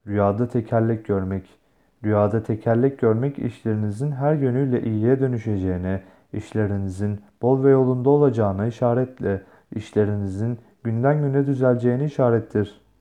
Rüyada tekerlek görmek. Rüyada tekerlek görmek işlerinizin her yönüyle iyiye dönüşeceğine, işlerinizin bol ve yolunda olacağına işaretle, işlerinizin günden güne düzeleceğine işarettir.